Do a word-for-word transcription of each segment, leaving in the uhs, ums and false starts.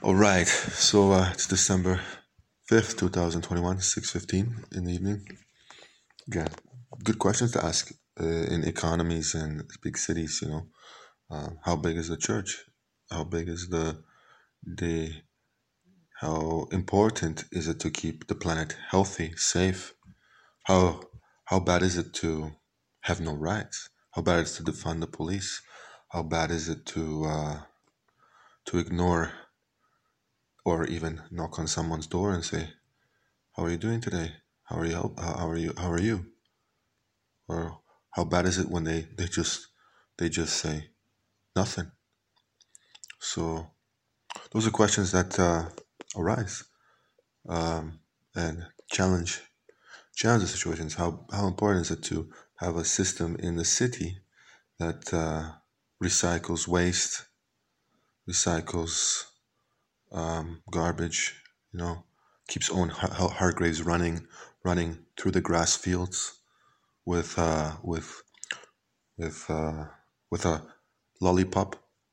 All right, so uh, it's December fifth, two thousand twenty-one, six fifteen in the evening. Again, good questions to ask uh, in economies and big cities, you know. Uh, how big is the church? How big is the the how important is it to keep the planet healthy, safe? How how bad is it to have no rights? How bad is it to defund the police? How bad is it to uh, to ignore or even knock on someone's door and say, "How are you doing today? How are you? How how are you? How are you?" Or how bad is it when they they just they just say nothing? So those are questions that uh, arise um, and challenge challenge the situations. How how important is it to have a system in the city that uh, recycles waste, recycles um, garbage, you know, keeps Owen Har- Hargraves running running through the grass fields with uh, with with uh, with a lollipop,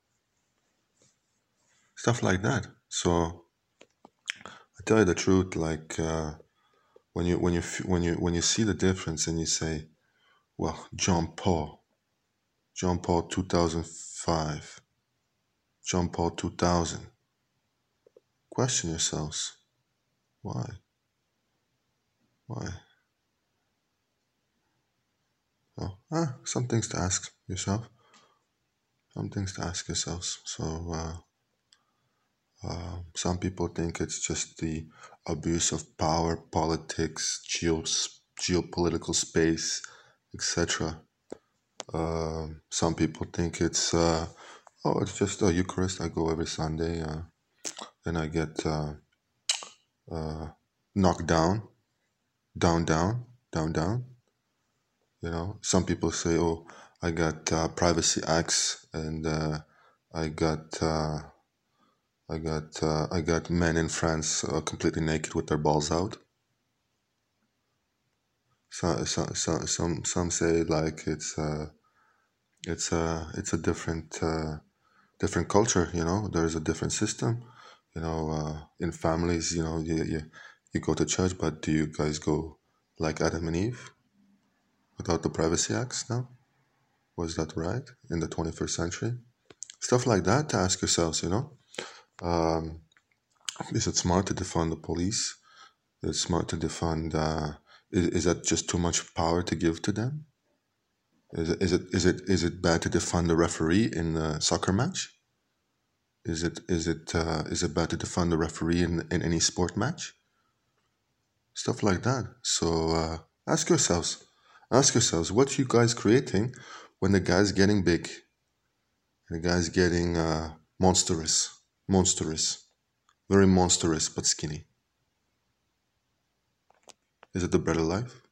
stuff like that. So I tell you the truth, like uh, when you when you f- when you when you see the difference and you say, well, John Paul, John Paul two thousand five, John Paul two thousand, question yourselves, why, why? Well, ah, some things to ask yourself, some things to ask yourselves. So. Uh, Uh, some people think it's just the abuse of power, politics, geos, geopolitical space, et cetera. Um some people think it's uh, oh, it's just a Eucharist. I go every Sunday, uh, and I get uh, uh, knocked down, down, down, down, down. You know, some people say, oh, I got uh, privacy acts, and uh, I got. Uh, I got uh, I got men in France uh, completely naked with their balls out. So, so, so, some some say like it's uh, it's a it's a different uh, different culture. You know, there's a different system. You know, uh, in families, you know, you, you you go to church, but do you guys go like Adam and Eve without the Privacy Acts now? Was that right in the twenty-first century? Stuff like that to ask yourselves. You know, um, is it smart to defund the police? Is it smart to defund? Uh, is, is that just too much power to give to them? Is it is it is it is it bad to defund the referee in a soccer match? Is it is it uh, is it bad to defund the referee in, in any sport match? Stuff like that. So uh, ask yourselves, ask yourselves, what you guys creating when the guy's getting big, the guy's getting uh, monstrous, monstrous, very monstrous but skinny. Is it the better life?